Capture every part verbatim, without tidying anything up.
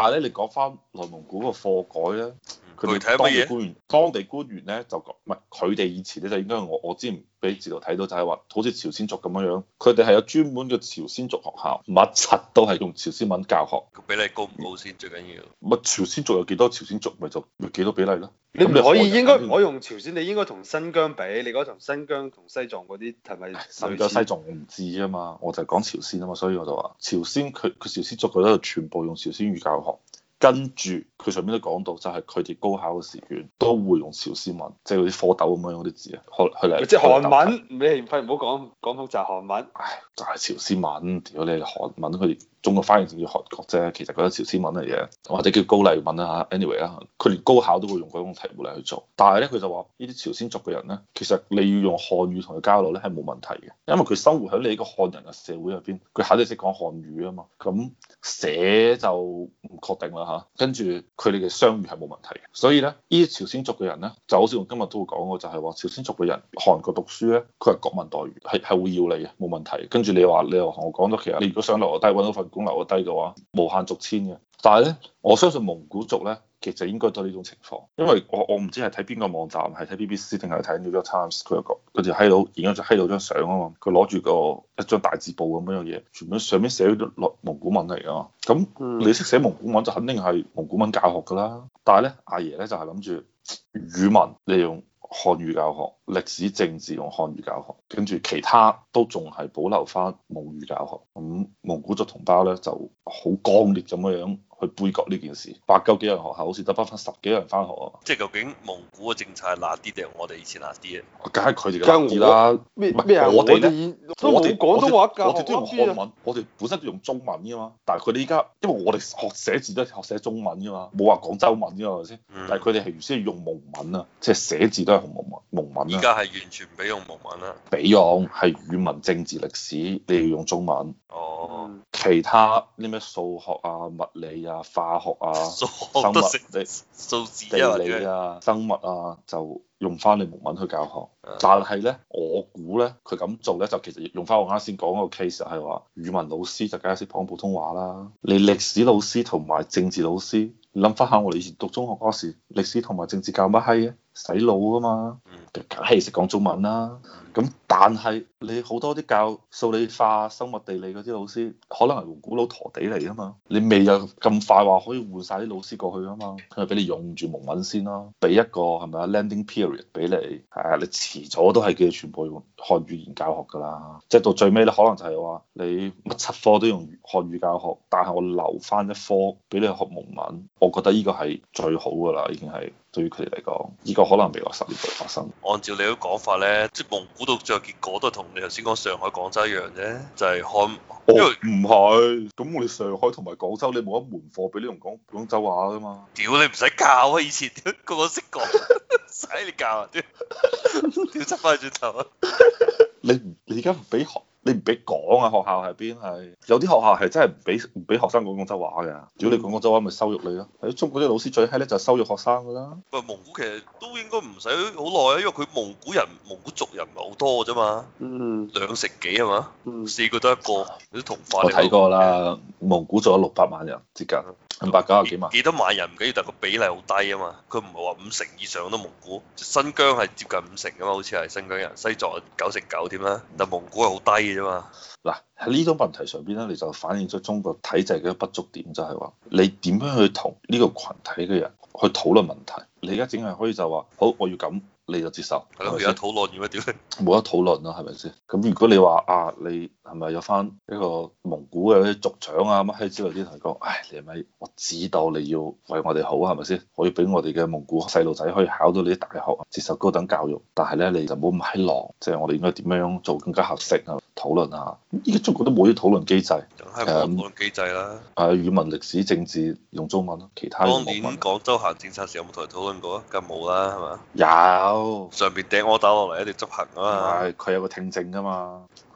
係咧，你講翻內蒙古個課改咧，佢具體係哋當乜嘢？ 地官員，當地官員咧就講，唔係佢哋以前咧就應該我我之前俾字圖睇到就係話，好似朝鮮族咁樣樣，佢哋係有專門嘅朝鮮族學校，乜柒都係用朝鮮文教學。 個比例高唔高先最緊要？ 乜朝鮮族有幾多朝鮮族，咪就咪幾多比例咯？ 你唔咁可以應該韓人唔可以用朝鮮，你應該同新疆比，你嗰同新疆同西藏嗰啲係咪新疆西藏我唔知啊嘛，我就係講朝鮮啊嘛，所以我就話朝鮮佢佢朝鮮族佢都全部用朝鮮語教學。跟住佢上面都講到，就係佢哋高考嘅試卷都會用朝鮮文，即係嗰啲蝌蚪咁樣嗰啲字啊，去去嚟。 即係韓文，你費唔好講講複雜韓文。 唉，就係朝鮮文，屌你韓文，佢哋中國翻譯成叫韓國啫，其實嗰啲朝鮮文嚟嘅，或者叫高麗文啦嚇。anyway 啦，佢連高考都會用嗰種題目嚟去做，但係咧佢就話呢啲朝鮮族嘅人咧，其實你要用漢語同佢交流咧係冇問題嘅，因為佢生活喺你呢個漢人嘅社會入邊，佢肯定識講漢語啊嘛。咁寫就唔確定啦嚇，跟住佢哋嘅雙語係冇問題嘅，所以咧呢啲朝鮮族嘅人咧，就好似我今日都會講過，就係話朝鮮族嘅人韓國讀書咧，佢係國民待遇，係係會要你嘅，冇問題。跟住你話你又同我講咗，其實你如果想留低揾到份工留低嘅話，無限續簽嘅。但係咧，我相信蒙古族咧，其實應該都係呢種情況，因為我我唔知係睇邊個網站，係睇 B B C 定係睇 New York Times，佢有個嗰條閪佬影咗張閪佬張相啊嘛，佢攞住個一張大字報咁樣嘅嘢，全部上面寫咗落蒙古文嚟㗎嘛，咁你識寫蒙古文就肯定係蒙古文教學㗎啦。但係咧，阿爺咧就係諗住語文利用漢語教學，歷史政治用漢語教學，跟住其他都仲係保留翻蒙語教學。咁蒙古族同胞咧就好剛烈咁樣樣去杯葛呢件事，八九幾人學校好似得翻翻十幾人翻學啊！ 即係究竟蒙古嘅政策係辣啲定係我哋以前辣啲啊？ 梗係佢哋嘅辣啲啦。 咩咩啊？ 我哋咧， 哋都冇廣東話教學， 我哋都用漢文，我哋本身都用中文㗎嘛。但係佢哋依家，因為我哋學寫字都係學寫中文㗎嘛，冇話廣州文㗎嘛，係咪先？ 嗯、 但係佢哋係原先用蒙文啊，即係寫字都係用蒙文蒙文。 而家係完全唔俾用蒙文啦。 俾用係語文、政治、歷史，你要用中文。 哦。 其他啲咩數學啊、物理啊、化學啊、 數生物、 你數字地理啊、生物啊，就用翻你蒙文去教學。但係咧，我估咧，佢咁做咧，就其實用翻我啱先講嗰個 case 係話，語文老師就梗係識講普通話啦。你歷史老師同埋政治老師，你諗翻下我哋以前讀中學嗰時，歷史同埋政治教乜閪啊？洗腦噶嘛，梗係識講中文啦。咁但係你好多啲教數理化、生物地理嗰啲老師，可能係蒙古佬陀地嚟啊嘛。你未有咁快話可以換晒啲老師過去啊嘛，佢咪俾你用住蒙文先咯，俾一個係咪啊 landing period 俾你，係啊，你遲早都係叫你全部用漢語言教學噶啦。即係到最尾咧，可能就係話你乜七科都用漢語教學，但係我留翻一科俾你學蒙文，我覺得呢個係最好噶啦，已經係。對於佢哋嚟講，呢個可能未來十年會發生。 按照你嘅講法咧，即係蒙古到最後結果都係同你頭先講上海、廣州一樣啫，就係漢。因為唔係，咁我哋上海同埋廣州，你冇一門課俾你用講廣州話噶嘛？ 屌你唔使教啊！以前個個識講，使你教啊！屌，屌執翻轉頭啊！ 你唔你而家唔俾學？你唔俾講啊！學校係邊係？有啲學校係真係唔俾唔俾學生講廣州話嘅。如果你講廣州話，咪羞辱你咯。喺中國啲老師最閪咧就係羞辱學生噶啦。 喂，蒙古其實都應該唔使好耐啊，因為佢蒙古人、蒙古族人唔係好多啫嘛。 嗯。兩成幾係嘛？嗯。四個得一個，啲同化。 我睇過啦，蒙古做咗六百萬人，接近五百九十幾萬。 幾多萬人唔緊要，但係個比例好低啊嘛。佢唔係話五成以上都蒙古，新疆係接近五成噶嘛，好似係新疆人，西藏九成九添啦。但蒙古係好低嘅啫嘛。 嗱，喺呢種問題上邊咧，你就反映咗中國體制嘅不足點，就係話你點樣去同呢個群體嘅人去討論問題？你而家淨係可以就話好，我要咁，你就接受。 係咯，而家討論要乜屌你？ 冇得討論啦，係咪先？咁如果你話啊，你係咪有翻一個蒙古嘅啲族長啊乜閪之類啲同佢講？唉，你係咪我知道你要為我哋好係咪先？可以俾我哋嘅蒙古細路仔可以考到你啲大學，接受高等教育。但係咧，你就唔好咁閪狼，即係我哋應該點樣做更加合適啊？討論下。依家中國都冇啲討論機制， 係冇討論機制啦。 誒，語文、歷史、政治用中文咯，其他當年廣州行政策時有冇同人討論過啊？梗冇啦，係嘛？ 有。 上邊掟柯打落嚟一定執行啊嘛。 係，佢有個聽證㗎嘛。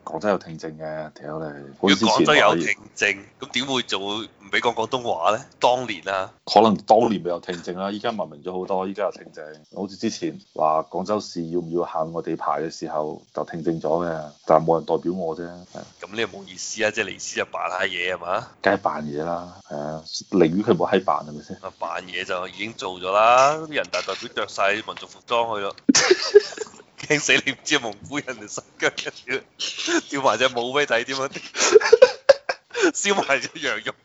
廣州有聽證嘅，屌你！ 如果廣州有聽， 聽證，咁點會做唔俾講廣東話咧？當年啊， 可能當年未有聽證啦，依家文明咗好多，依家有聽證。好似之前話廣州市要唔要限我地牌嘅時候就聽證咗嘅，但係冇人代表我啫。 咁你又冇意思啊！即係嚟思就扮下嘢係嘛？ 梗係扮嘢啦，係啊，寧願佢冇閪扮係咪先？ 啊，扮嘢就已經做咗啦，啲人大代表着晒民族服裝去咯。驚死你唔知蒙古人定新疆人，跳埋隻舞俾你睇點啊？燒埋隻羊肉。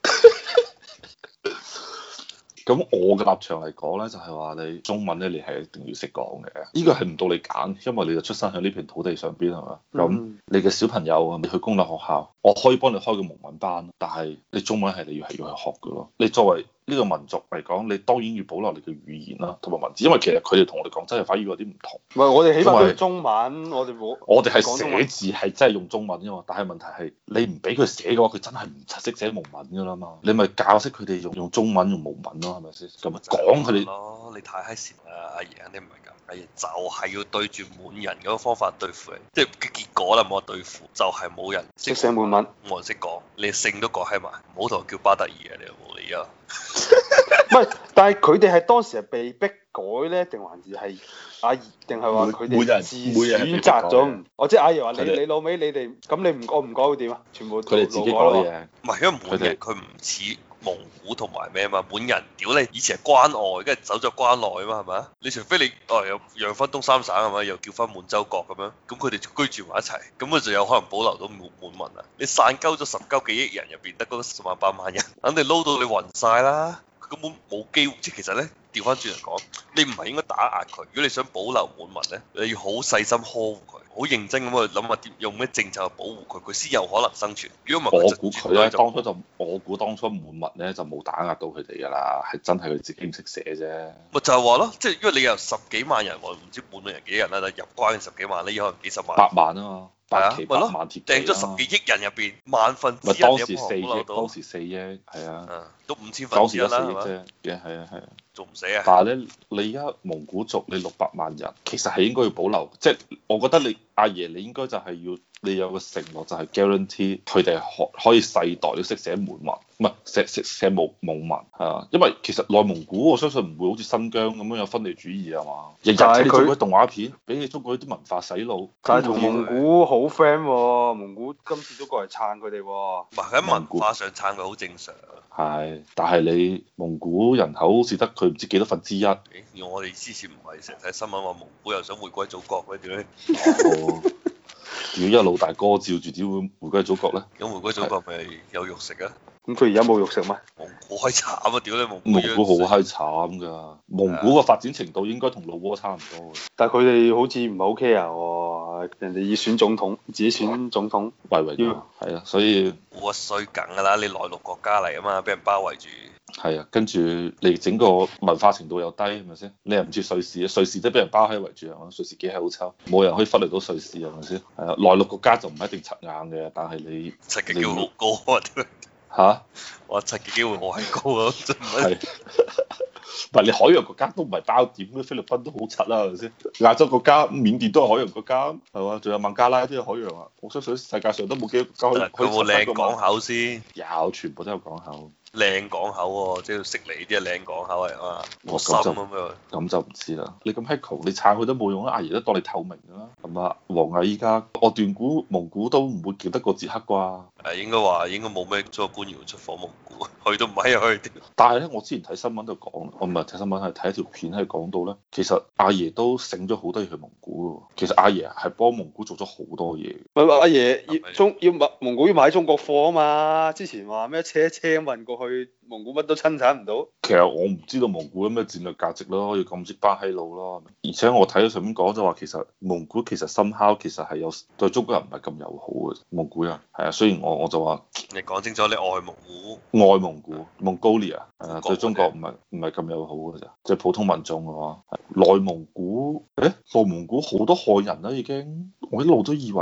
咁我嘅立場嚟講咧，就係話你中文咧，你係一定要識講嘅。呢個係唔到你揀，因為你就出生喺呢片土地上邊係嘛。咁、嗯、你嘅小朋友你去公立學校，我可以幫你開個蒙文班，但係你中文係你要係要去學嘅咯。你作為呢個民族嚟講，你當然要保留你嘅語言啦，同埋文字，因為其實佢哋同我哋廣州人反而有啲唔同。 唔係，我哋起碼都係中文，我哋冇。 我哋係寫字係真係用中文啫嘛，但係問題係你唔俾佢寫嘅話，佢真係唔識寫蒙文噶啦嘛。你咪教識佢哋用用中文用蒙文咯，係咪先？咁講佢哋咯，你太閪善啦，阿爺肯定唔係㗎。阿爺就係要對住滿人嗰個方法對付你，即係嘅結果啦，冇得對付，就係、是、冇人識寫滿文， 冇人識講，你姓都改閪埋，唔好同佢叫巴特爾啊！你有冇理啊？ 唔係，但係佢哋係當時係被逼改咧，定還是係阿爺，定係話佢哋自選擇咗？我即係阿爺話你你老味，你哋咁你唔改唔改會點啊？全部佢哋自己改嘅， 唔係因為滿人佢唔似蒙古同埋咩啊嘛，滿人屌你以前係關外，跟住走咗關內啊嘛，係咪啊？你除非你哦又讓分東三省係咪？又叫翻滿洲國咁樣，咁佢哋居住埋一齊，咁佢就有可能保留到滿滿民啊！你散鳩咗十鳩幾億人入邊，得嗰十萬八萬人，肯定撈到你暈晒啦！根本冇機會，即係其實咧調翻轉嚟講，你唔係應該打壓佢。如果你想保留滿民咧，你要好細心呵護佢，好認真咁去諗下點用咩政策去保護佢，佢先有可能生存。如果唔係， 我估佢咧當初就我估當初滿民咧就冇打壓到佢哋㗎啦，係真係佢自己唔識寫啫。 咪就係話咯，即係因為你有十幾萬人，我唔知滿人幾人啦，但入關嘅十幾萬咧，可能幾十萬。 八萬啊嘛。 係啊， 咪咯， 掟咗十幾億人入邊，萬分之一當時四億，當時四億，係啊， 都五千分之一啦， 係嘛？嘅係啊係啊， 仲唔死啊？ 但係咧，你而家蒙古族你六百萬人，其實係應該要保留，即係我覺得你阿爺你應該就係要你有個承諾，就係 guarantee 佢哋可可以世代都識寫滿文，唔係寫寫寫蒙蒙文係啊，因為其實內蒙古我相信唔會好似新疆咁樣有分離主義係嘛，日日睇中國啲動畫片，俾你中國啲文化洗腦， 但係同蒙古好 friend 喎，蒙古今次都過嚟撐佢哋喎。 唔係喺文化上撐佢好正常。 係，但係你蒙古人口好似得佢唔知幾多分之一。 而我哋之前唔係成日睇新聞話蒙古又想回歸祖國嗰啲咧。 哦，如果有老大哥照住點會回歸祖國咧？ 咁回歸祖國咪有肉食啊？ 咁佢而家冇肉食咩？ 蒙古好閪慘啊！屌你蒙古！ 蒙古好閪慘㗎，蒙古個發展程度應該同老撾差唔多嘅。 但係佢哋好似唔係好 care 喎，人哋要選總統，自己選總統， 維維要係啊，所以我衰梗㗎啦！你內陸國家嚟啊嘛，俾人包圍住。 係啊，跟住你整個文化程度又低，係咪先？你又唔似瑞士啊？瑞士都俾人包喺圍住係嘛？瑞士幾係好抽，冇人可以忽略到瑞士係咪先？係啊，內陸國家就唔一定柒硬嘅，但係你柒嘅機會好高啊！ 嚇！ 我柒嘅機會我係高啊！真係。 唔係你海洋國家都唔係包點嘅，菲律賓都好柒啦，係咪先？亞洲國家緬甸都係海洋國家，係嘛？仲有孟加拉都係海洋啊！我相信世界上都冇幾個國家可以。 佢有冇靚港口先？ 有，全部都有港口。 靚港口喎，即係悉尼啲係靚港口嚟啊嘛，冇心咁樣。 咁就唔知啦。你咁閪窮，你撐佢都冇用啊！阿爺都當你透明㗎啦。咁啊，王毅依家我斷估蒙古都唔會叫得過捷克啩？ 誒，應該話應該冇咩中國官員出訪蒙古，去都唔係啊去。但係咧，我之前睇新聞就講，我唔係睇新聞係睇一條片係講到咧，其實阿爺都醒咗好多嘢去蒙古喎。其實阿爺係幫蒙古做咗好多嘢。 唔係阿爺要中要蒙蒙古要買中國貨啊嘛？之前話咩車車運過去蒙古乜都生產唔到。 其實我唔知道蒙古有咩戰略價值咯，要咁識班閪佬咯。而且我睇到上面講就話，其實蒙古其實深烤其實係有對中國人唔係咁友好嘅。蒙古人係啊，雖然我我就話你講清楚，你外蒙古、 外蒙古、蒙古利亞係啊，對中國唔係唔係咁友好嘅咋，即係普通民眾嘅話。內蒙古，誒，內蒙古好多漢人啦已經，我一路都以為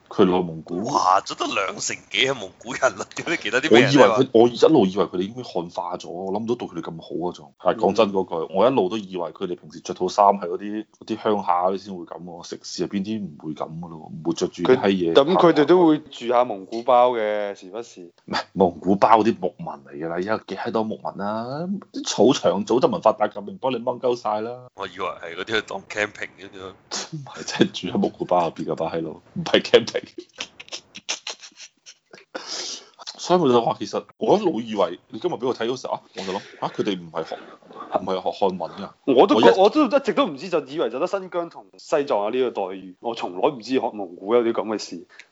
佢內蒙古。 哇！咗得兩成幾係蒙古人啦，點解其他啲我咩人？ 以為佢，我一路以為佢哋已經漢化咗，我諗唔到對佢哋咁好啊仲。係講真嗰句，我一路都以為佢哋平時着套衫係嗰啲嗰啲鄉下嗰啲先會咁喎，城市入邊啲唔會咁噶咯，唔會着住啲閪嘢。 咁佢哋都會住下蒙古包嘅，時不時。 唔係蒙古包嗰啲牧民嚟㗎啦，而家幾閪多牧民啊！啲草場早就文化大革命幫你掹鳩晒啦。 我以為係嗰啲去當 camping 嘅啫。 唔係真係住喺蒙古包入邊嘅巴閪佬，唔係 camping。所以我就話其實我一路以為你今日俾我睇嗰時候啊，我就諗啊佢哋唔係學唔係學漢文㗎。 我都我一我都一直都唔知，就以為就得新疆同西藏有呢個待遇，我從來唔知學蒙古有啲咁嘅事。